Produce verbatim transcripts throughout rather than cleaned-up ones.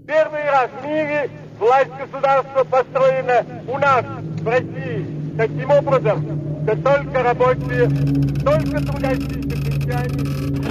Первый раз в мире власть государства построена у нас, в России, таким образом, что только рабочие, только трудящиеся крестьяне.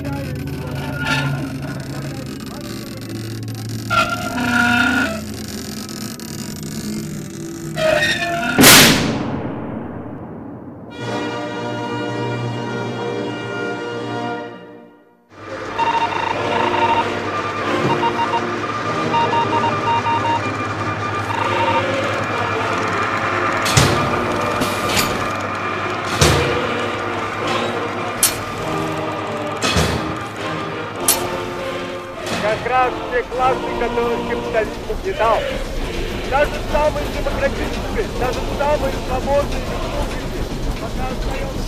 Как раз те классы, которых капитализм угнетал. Даже самые демократические, даже самые свободные республики пока остается...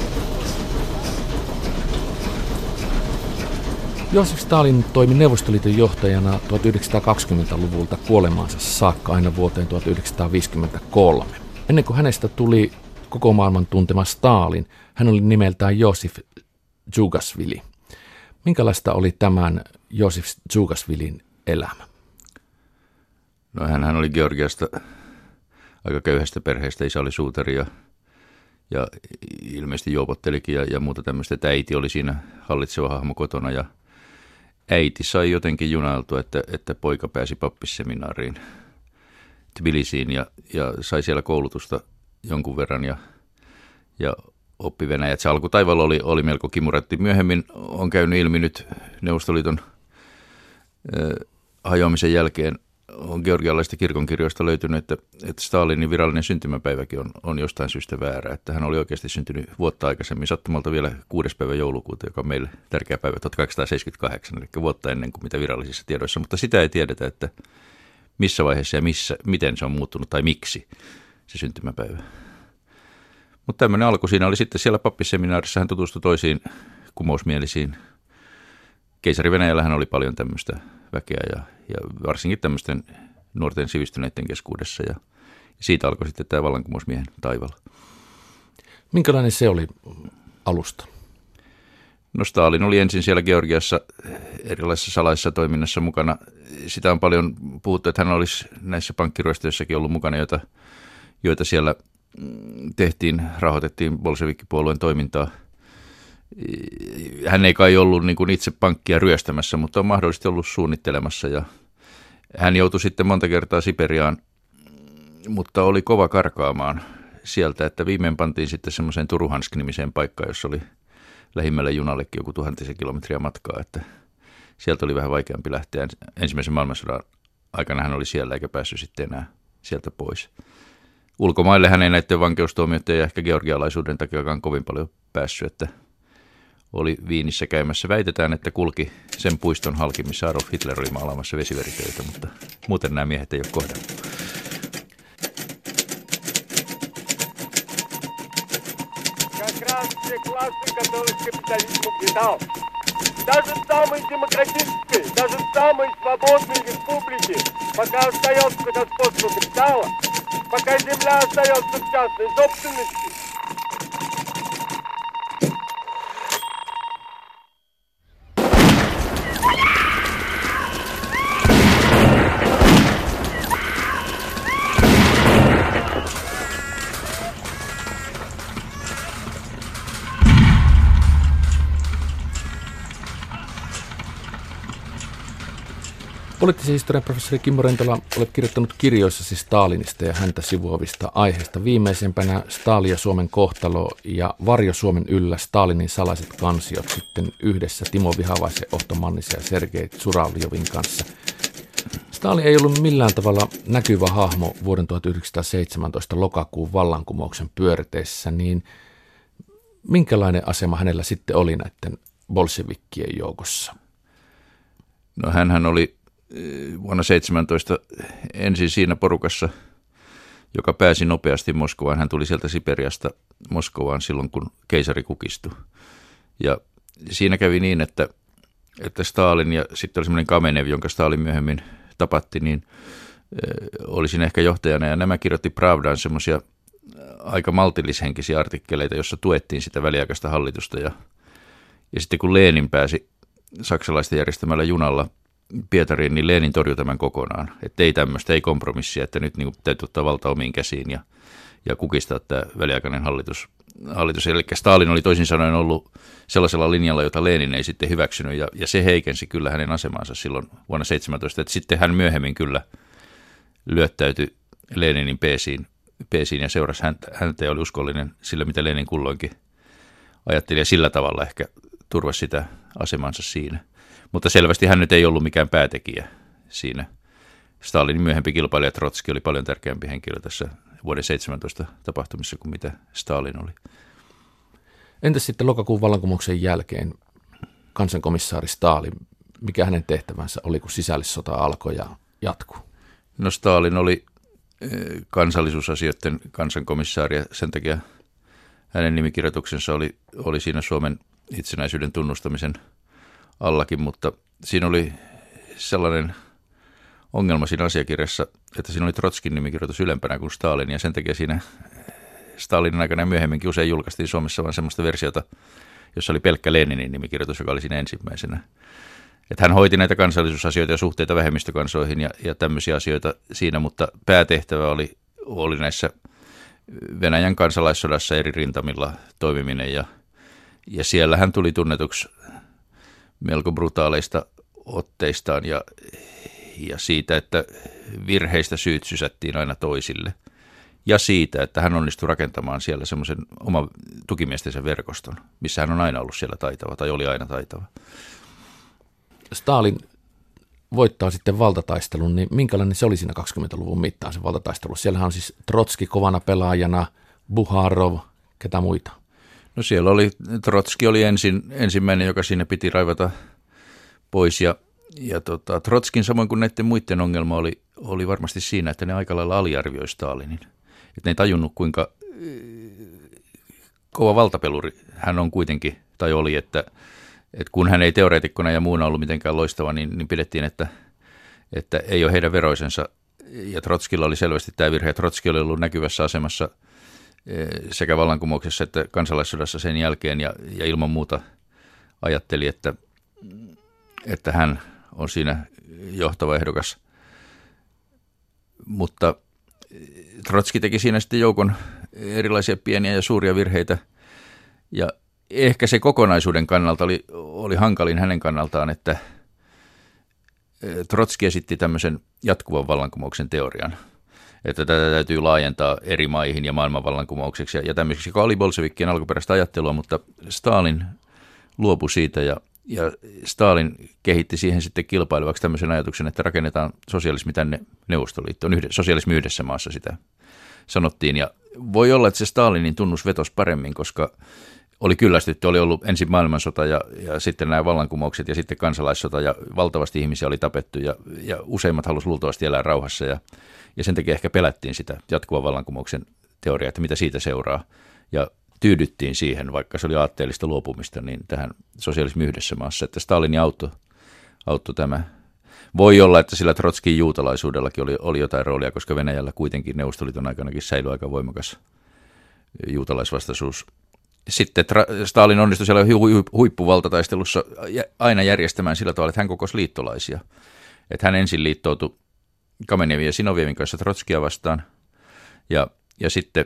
Josif Stalin toimi Neuvostoliiton johtajana tuhatyhdeksänsataakaksikymmentäluvulta kuolemaansa saakka aina vuoteen tuhatyhdeksänsataaviisikymmentäkolme. Ennen kuin hänestä tuli koko maailman tuntema Stalin, hän oli nimeltään Josif Djugasvili. Minkälaista oli tämän Josif Djugasvilin elämä? No hän oli Georgiasta aika köyhästä perheestä, isä oli suutari ja, ja ilmeisesti juopottelikin ja, ja muuta tämmöistä, että äiti oli siinä hallitseva hahmo kotona ja äiti sai jotenkin junailtua, että, että poika pääsi pappisseminaariin Tbilisiin ja, ja sai siellä koulutusta jonkun verran ja, ja oppi venäjät. Se alkutaival oli, oli melko kimuratti. Myöhemmin on käynyt ilmi nyt Neuvostoliiton äh, hajoamisen jälkeen on georgialaisista kirkonkirjoista löytynyt, että, että Stalinin virallinen syntymäpäiväkin on, on jostain syystä väärä. Että hän oli oikeasti syntynyt vuotta aikaisemmin, sattumalta vielä kuudes päivä joulukuuta, joka on meille tärkeä päivä tuhatkahdeksansataaseitsemänkymmentäkahdeksan, eli vuotta ennen kuin mitä virallisissa tiedoissa. Mutta sitä ei tiedetä, että missä vaiheessa ja missä, miten se on muuttunut tai miksi se syntymäpäivä. Mutta tämmöinen alku siinä oli sitten siellä pappisseminaarissa, hän tutustui toisiin kumousmielisiin. Keisari Venäjällähän oli paljon tämmöistä väkeä ja, ja varsinkin tämmöisten nuorten sivistyneiden keskuudessa ja siitä alkoi sitten tämä vallankumousmiehen taival. Minkälainen se oli alusta? No Stalin oli ensin siellä Georgiassa erilaisessa salaisessa toiminnassa mukana. Sitä on paljon puhuttu, että hän olisi näissä pankkiryöstöissäkin ollut mukana, joita, joita siellä tehtiin, rahoitettiin bolshevikkipuolueen toimintaa. Hän ei kai ollut niin kuin itse pankkia ryöstämässä, mutta on mahdollisesti ollut suunnittelemassa ja hän joutui sitten monta kertaa Siperiaan, mutta oli kova karkaamaan sieltä, että viimein pantiin sitten semmoiseen Turuhansk-nimiseen paikkaan, jossa oli lähimmälle junallekin joku tuhantisen kilometriä matkaa, että sieltä oli vähän vaikeampi lähteä. Ensimmäisen maailmansodan aikana hän oli siellä eikä päässyt sitten enää sieltä pois. Ulkomaille hän ei näiden vankeustuomioiden ja ehkä georgialaisuuden takiakaan kovin paljon päässyt, että oli Viinissä käymässä. Väitetään, että kulki sen puiston halki, missä Adolf Hitler oli maalaamassa vesiveritöitä, mutta muuten nämä miehet ei ole kohdannut. Даже самые демократические, даже самые свободные республики, пока остается господство капитала, пока земля остается в частной собственности. Poliittisen historian professori Kimmo Rentola, olet kirjoittanut kirjoissasi Stalinista ja häntä sivuavista aiheista. Viimeisempänä Stalin ja Suomen kohtalo ja Varjo Suomen yllä Stalinin salaiset kansiot sitten yhdessä Timo Vihavaisen, Otto Mannisen ja Sergei Zuravljovin kanssa. Stalin ei ollut millään tavalla näkyvä hahmo vuoden tuhatyhdeksänsataaseitsemäntoista lokakuun vallankumouksen pyörteessä, niin minkälainen asema hänellä sitten oli näiden bolshevikkien joukossa? No hänhän oli vuonna seitsemäntoista ensin siinä porukassa, joka pääsi nopeasti Moskovaan. Hän tuli sieltä Siperiasta Moskovaan silloin, kun keisari kukistui. Ja siinä kävi niin, että, että Stalin ja sitten oli semmoinen Kamenev, jonka Stalin myöhemmin tapatti, niin oli siinä ehkä johtajana. Ja nämä kirjoitti Pravdaan semmoisia aika maltillishenkisiä artikkeleita, jossa tuettiin sitä väliaikaista hallitusta. Ja, ja sitten kun Lenin pääsi saksalaisten järjestämällä junalla Pietariin, niin Lenin torjui tämän kokonaan. Että ei tämmöistä, ei kompromissia, että nyt niin kuin täytyy ottaa valta omiin käsiin ja, ja kukistaa tämä väliaikainen hallitus. hallitus. Eli Stalin oli toisin sanoen ollut sellaisella linjalla, jota Lenin ei sitten hyväksynyt, ja, ja se heikensi kyllä hänen asemansa silloin vuonna seitsemäntoista. Että sitten hän myöhemmin kyllä lyöttäytyi Leninin peesiin, peesiin ja seurasi häntä, häntä ja oli uskollinen sillä, mitä Lenin kulloinkin ajatteli, ja sillä tavalla ehkä turvasi sitä asemansa siinä. Mutta selvästi hän nyt ei ollut mikään päätekijä siinä. Stalinin myöhempi kilpailija Trotski oli paljon tärkeämpi henkilö tässä vuoden seitsemäntoista tapahtumissa kuin mitä Stalin oli. Entäs sitten lokakuun vallankumouksen jälkeen kansankomissaari Stalin, mikä hänen tehtävänsä oli, kun sisällissota alkoi ja jatkuu? No Stalin oli kansallisuusasioiden kansankomissaari ja sen takia hänen nimikirjoituksensa oli, oli siinä Suomen itsenäisyyden tunnustamisen allakin, mutta siinä oli sellainen ongelma siinä asiakirjassa, että siinä oli Trotskin nimikirjoitus ylempänä kuin Stalin, ja sen takia siinä Stalinin aikana ja myöhemminkin usein julkaistiin Suomessa vain semmoista versiota, jossa oli pelkkä Leninin nimikirjoitus, joka oli siinä ensimmäisenä. Että hän hoiti näitä kansallisuusasioita ja suhteita vähemmistökansoihin ja, ja tämmöisiä asioita siinä, mutta päätehtävä oli, oli näissä Venäjän kansalaissodassa eri rintamilla toimiminen, ja, ja siellä hän tuli tunnetuksi melko brutaaleista otteistaan ja, ja siitä, että virheistä syyt sysättiin aina toisille. Ja siitä, että hän onnistui rakentamaan siellä semmoisen oman tukimiestensä verkoston, missä hän on aina ollut siellä taitava tai oli aina taitava. Stalin voittaa sitten valtataistelun, niin minkälainen se oli siinä kaksikymmentäluvun mittaan se valtataistelu? Siellähän on siis Trotski kovana pelaajana, Buharov, ketä muita? No siellä oli, Trotski oli ensin, ensimmäinen, joka siinä piti raivata pois, ja, ja tota, Trotskin samoin kuin näiden muiden ongelma oli, oli varmasti siinä, että ne aika lailla aliarvioi Stalinin. Että ne ei tajunnut, kuinka kova valtapeluri hän on kuitenkin, tai oli, että, että kun hän ei teoreetikkona ja muuna ollut mitenkään loistava, niin, niin pidettiin, että, että ei ole heidän veroisensa. Ja Trotskilla oli selvästi tämä virhe, että Trotski oli ollut näkyvässä asemassa sekä vallankumouksessa että kansalaissodassa sen jälkeen, ja, ja ilman muuta ajatteli, että, että hän on siinä johtava ehdokas. Mutta Trotski teki siinä sitten joukon erilaisia pieniä ja suuria virheitä, ja ehkä se kokonaisuuden kannalta oli, oli hankalin hänen kannaltaan, että Trotski esitti tämmöisen jatkuvan vallankumouksen teorian, että tätä täytyy laajentaa eri maihin ja maailmanvallankumoukseksi ja, ja tämmöiseksi, joka oli bolshevikkien alkuperäistä ajattelua, mutta Stalin luopui siitä, ja, ja Stalin kehitti siihen sitten kilpailevaksi tämmöisen ajatuksen, että rakennetaan sosialismi tänne Neuvostoliittoon, yhdessä, sosialismi yhdessä maassa sitä sanottiin, ja voi olla, että se Stalinin tunnus vetosi paremmin, koska oli kyllästytty, oli ollut ensin maailmansota ja, ja sitten nämä vallankumoukset ja sitten kansalaissota, ja valtavasti ihmisiä oli tapettu, ja, ja useimmat halusivat luultavasti elää rauhassa, ja, ja sen takia ehkä pelättiin sitä jatkuvan vallankumouksen teoriaa, että mitä siitä seuraa, ja tyydyttiin siihen, vaikka se oli aatteellista luopumista, niin tähän sosialismi yhdessä maassa, että Stalin auttoi, auttoi tämä. Voi olla, että sillä Trotskin juutalaisuudellakin oli, oli jotain roolia, koska Venäjällä kuitenkin Neuvostoliiton aikanakin säilyi aika voimakas juutalaisvastaisuus. Sitten Stalin onnistui siellä huippuvaltataistelussa aina järjestämään sillä tavalla, että hän kokosi liittolaisia. Että hän ensin liittoutui Kamenevin ja Sinovievin kanssa Trotskia vastaan, ja, ja sitten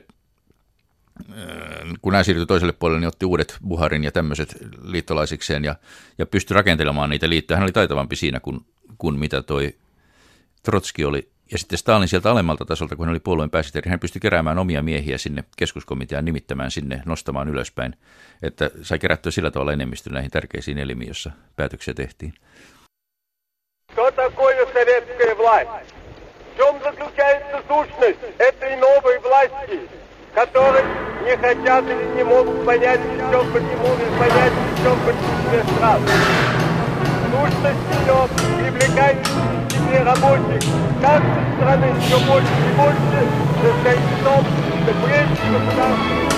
kun hän siirtyi toiselle puolelle, niin otti uudet Buharin ja tämmöiset liittolaisikseen ja, ja pystyi rakentelemaan niitä liittoja. Hän oli taitavampi siinä kuin, kuin mitä toi Trotski oli. Ja sitten Stalin sieltä alemmalta tasolta, kun hän oli puolueen pääsihteeri, hän pystyi keräämään omia miehiä sinne keskuskomiteaan, nimittämään sinne, nostamaan ylöspäin, että sai kerättyä sillä tavalla enemmistön näihin tärkeisiin elimiin, joissa päätöksiä tehtiin. Что такое советская власть? В чем заключается сущность этой новой власти, которые не хотят или не могут понять, в чем почему не понять, в чем почему страх? Сущность ее привлекает к себе рабочих каждой страны все больше и больше, состоит в том, что прежде государства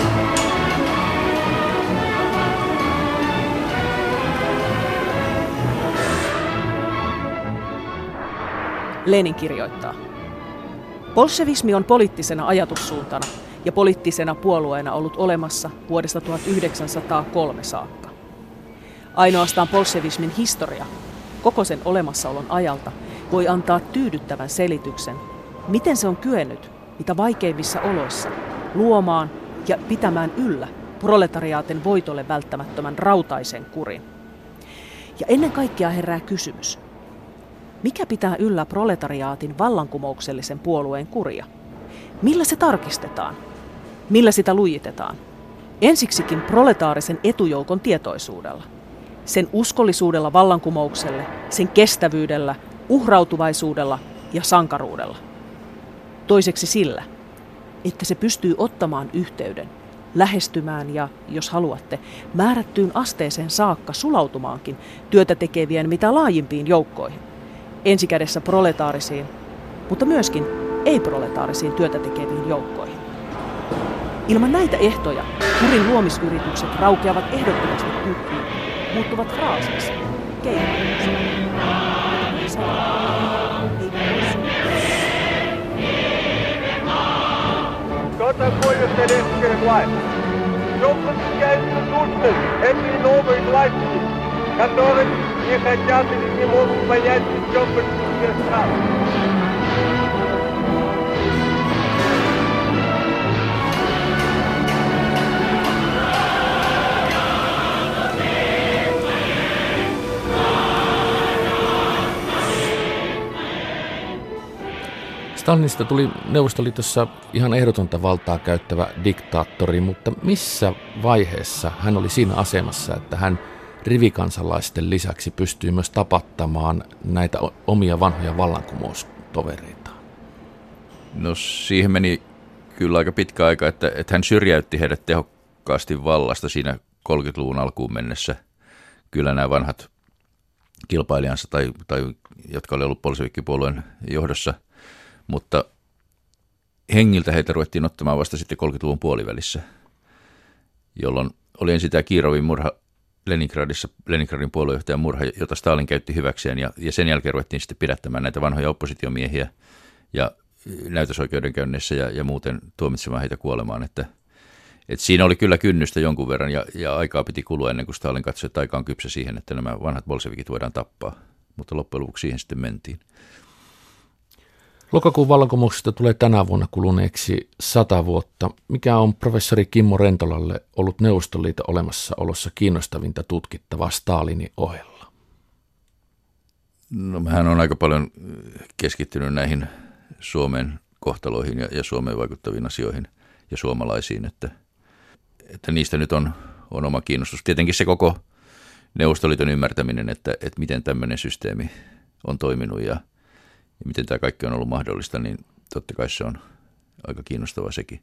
Lenin kirjoittaa: bolshevismi on poliittisena ajatussuuntana ja poliittisena puolueena ollut olemassa vuodesta tuhatyhdeksänsataakolme saakka. Ainoastaan bolshevismin historia koko sen olemassaolon ajalta voi antaa tyydyttävän selityksen, miten se on kyennyt mitä vaikeimmissa oloissa luomaan ja pitämään yllä proletariaatin voitolle välttämättömän rautaisen kurin. Ja ennen kaikkea herää kysymys, mikä pitää yllä proletariaatin vallankumouksellisen puolueen kuria? Millä se tarkistetaan? Millä sitä lujitetaan? Ensiksikin proletaarisen etujoukon tietoisuudella. Sen uskollisuudella vallankumoukselle, sen kestävyydellä, uhrautuvaisuudella ja sankaruudella. Toiseksi sillä, että se pystyy ottamaan yhteyden, lähestymään ja, jos haluatte, määrättyyn asteeseen saakka sulautumaankin työtä tekevien mitä laajimpiin joukkoihin. Ensikädessä proletaarisiin, mutta myöskin ei-proletaarisiin työtä tekeviin joukkoihin. Ilman näitä ehtoja kurin luomisyritykset raukeavat ehdottomasti tyhjiin, muuttuvat fraasiksi, keinoiksi. Что такое советская власть? В чем заключается сущность этой новой власти, которых не хотят или не могут понять в чем большинстве стран? Stalinista tuli Neuvostoliitossa ihan ehdotonta valtaa käyttävä diktaattori, mutta missä vaiheessa hän oli siinä asemassa, että hän rivikansalaisten lisäksi pystyy myös tapattamaan näitä omia vanhoja vallankumoustovereitaan? No siihen meni kyllä aika pitkä aika, että, että hän syrjäytti heidät tehokkaasti vallasta siinä kolmekymmentäluvun alkuun mennessä. Kyllä nämä vanhat kilpailijansa tai, tai jotka oli ollut bolševikkipuolueen johdossa, mutta hengiltä heitä ruvettiin ottamaan vasta sitten kolmekymmentäluvun puolivälissä, jolloin oli ensin tämä Kirovin murha Leningradissa, Leningradin puoluejohtajan murha, jota Stalin käytti hyväkseen, ja, ja sen jälkeen ruvettiin sitten pidättämään näitä vanhoja oppositiomiehiä ja näytösoikeudenkäynneissä ja, ja muuten tuomitsemaan heitä kuolemaan, että, että siinä oli kyllä kynnystä jonkun verran ja, ja aikaa piti kulua ennen kuin Stalin katsoi, että aika on kypsä siihen, että nämä vanhat bolševikit voidaan tappaa, mutta loppujen lopuksi siihen sitten mentiin. Lokakuun vallankumouksesta tulee tänä vuonna kuluneeksi sata vuotta. Mikä on professori Kimmo Rentolalle ollut Neuvostoliiton olemassaolossa kiinnostavinta tutkittavaa Stalinin ohella? No hän on aika paljon keskittynyt näihin Suomen kohtaloihin ja, ja Suomeen vaikuttaviin asioihin ja suomalaisiin, että, että niistä nyt on, on oma kiinnostus. Tietenkin se koko Neuvostoliiton ymmärtäminen, että, että miten tämmöinen systeemi on toiminut ja Ja miten tämä kaikki on ollut mahdollista, niin totta kai se on aika kiinnostavaa sekin.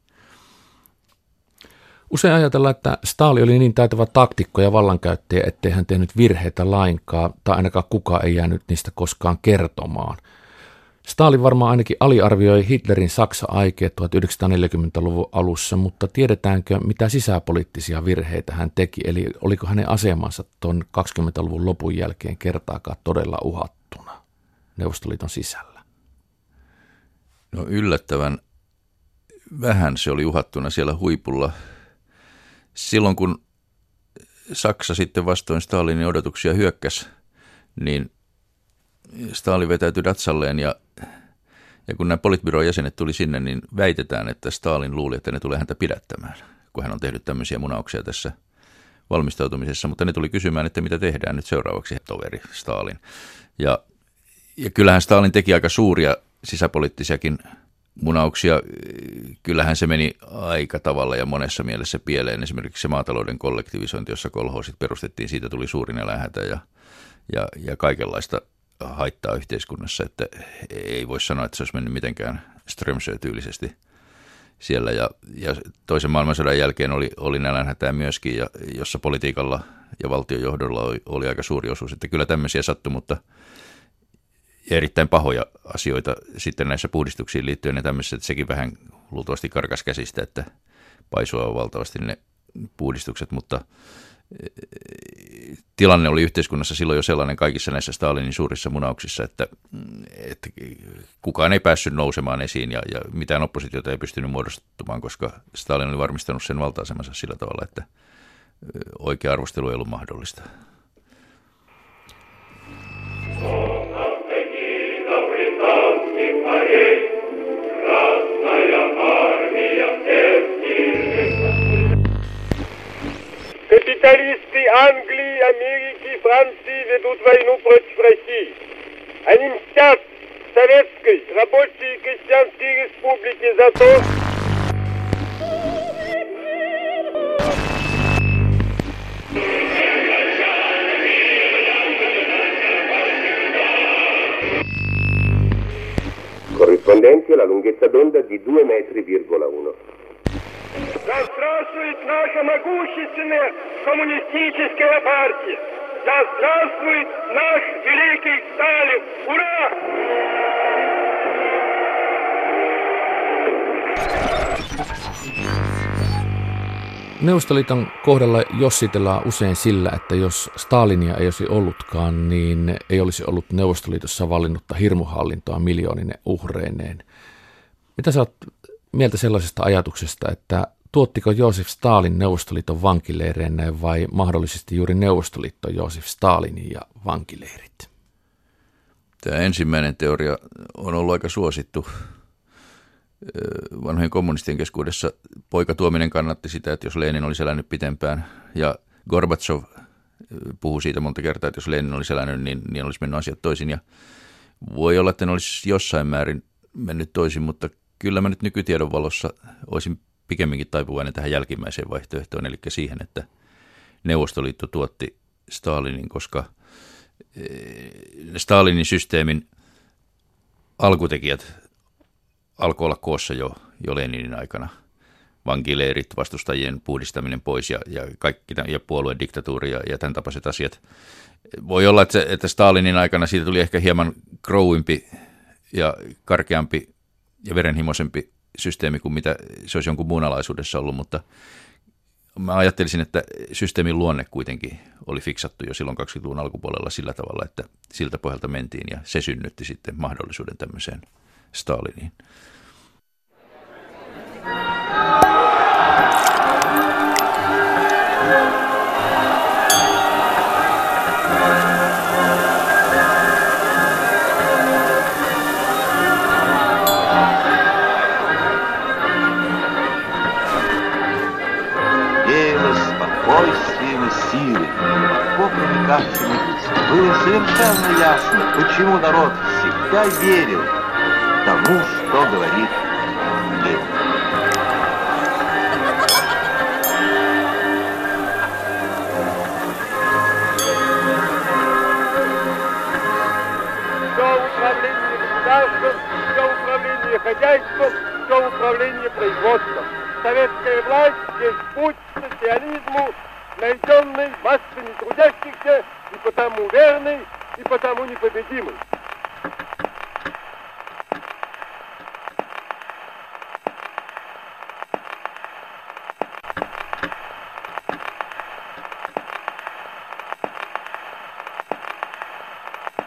Usein ajatellaan, että Stalin oli niin taitava taktikko ja vallankäyttäjä, ettei hän tehnyt virheitä lainkaan, tai ainakaan kukaan ei jäänyt niistä koskaan kertomaan. Stalin varmaan ainakin aliarvioi Hitlerin Saksa-aikeet tuhatyhdeksänsataaneljäkymmentäluvun alussa, mutta tiedetäänkö, mitä sisäpoliittisia virheitä hän teki, eli oliko hänen asemansa tuon kaksikymmentäluvun lopun jälkeen kertaakaan todella uhattuna Neuvostoliiton sisällä? No yllättävän vähän se oli uhattuna siellä huipulla. Silloin kun Saksa sitten vastoin Stalinin odotuksia hyökkäsi, niin Stalin vetäytyi Datsalleen ja, ja kun nämä politbyron jäsenet tuli sinne, niin väitetään, että Stalin luuli, että ne tulee häntä pidättämään, kun hän on tehnyt tämmöisiä munauksia tässä valmistautumisessa, mutta ne tuli kysymään, että mitä tehdään nyt seuraavaksi, toveri Stalin. Ja, ja kyllähän Stalin teki aika suuria sisäpoliittisiakin munauksia. Kyllähän se meni aika tavalla ja monessa mielessä pieleen. Esimerkiksi se maatalouden kollektivisointi, jossa kolhoosit perustettiin, siitä tuli suurin eläinhätä ja, ja, ja kaikenlaista haittaa yhteiskunnassa, että ei voi sanoa, että se olisi mennyt mitenkään Strömsö-tyylisesti siellä. Ja, ja toisen maailmansodan jälkeen oli, oli nälänhätää myöskin, ja, jossa politiikalla ja valtiojohdolla oli, oli aika suuri osuus. Että kyllä tämmöisiä sattui, mutta ja erittäin pahoja asioita sitten näissä puhdistuksiin liittyen ja tämmöisissä, että sekin vähän luultavasti karkas käsistä, että paisua valtavasti ne puhdistukset, mutta tilanne oli yhteiskunnassa silloin jo sellainen kaikissa näissä Stalinin suurissa munauksissa, että, että kukaan ei päässyt nousemaan esiin ja, ja mitään oppositiota ei pystynyt muodostumaan, koska Stalin oli varmistanut sen valta-asemansa sillä tavalla, että oikea arvostelu ei ollut mahdollista. corrispondenti alla lunghezza d'onda di due metri virgola uno. Да здравствует наша могущественная коммунистическая партия! Да здравствует наш великий Сталин! Ура! Neuvostoliiton kohdalla jossitellaan usein sillä, että jos Stalinia ei olisi ollutkaan, niin ei olisi ollut Neuvostoliitossa vallinnutta hirmuhallintoa miljoonine uhreineen. Mitä sä oot mieltä sellaisesta ajatuksesta, että tuottiko Joosef Stalin Neuvostoliiton vankileireineen vai mahdollisesti juuri Neuvostoliitto Joosef Stalinin ja vankileirit? Tämä ensimmäinen teoria on ollut aika suosittu. Vanhojen kommunistien keskuudessa poika Tuominen kannatti sitä, että jos Lenin olisi elänyt pitempään, ja Gorbatsov puhui siitä monta kertaa, että jos Lenin olisi elänyt, niin, niin olisi mennyt asiat toisin. Ja voi olla, että ne olisi jossain määrin mennyt toisin, mutta kyllä mä nyt nykytiedon valossa olisin pikemminkin taipuvainen tähän jälkimmäiseen vaihtoehtoon, eli siihen, että Neuvostoliitto tuotti Stalinin, koska Stalinin systeemin alkutekijät alkoi olla koossa jo, jo Leninin aikana. Vankileirit, vastustajien puhdistaminen pois ja, ja, kaikki, ja puolueen diktatuuri ja, ja tämän tapaiset asiat. Voi olla, että, että Stalinin aikana siitä tuli ehkä hieman krouimpi ja karkeampi ja verenhimoisempi systeemi kuin mitä se olisi jonkun muun alaisuudessa ollut, mutta mä ajattelisin, että systeemin luonne kuitenkin oli fiksattu jo silloin kaksikymmentäluvun alkupuolella sillä tavalla, että siltä pohjalta mentiin ja se synnytti sitten mahdollisuuden tämmöiseen Staliniin. Спокойствием и силой, легко проникавшими, было совершенно ясно, почему народ всегда верил тому, что говорит Ленин. Все управление государством, все управление хозяйством, все управление производством. Советская власть есть путь к социализму, найденный массами трудящихся, и потому верный, и потому непобедимый.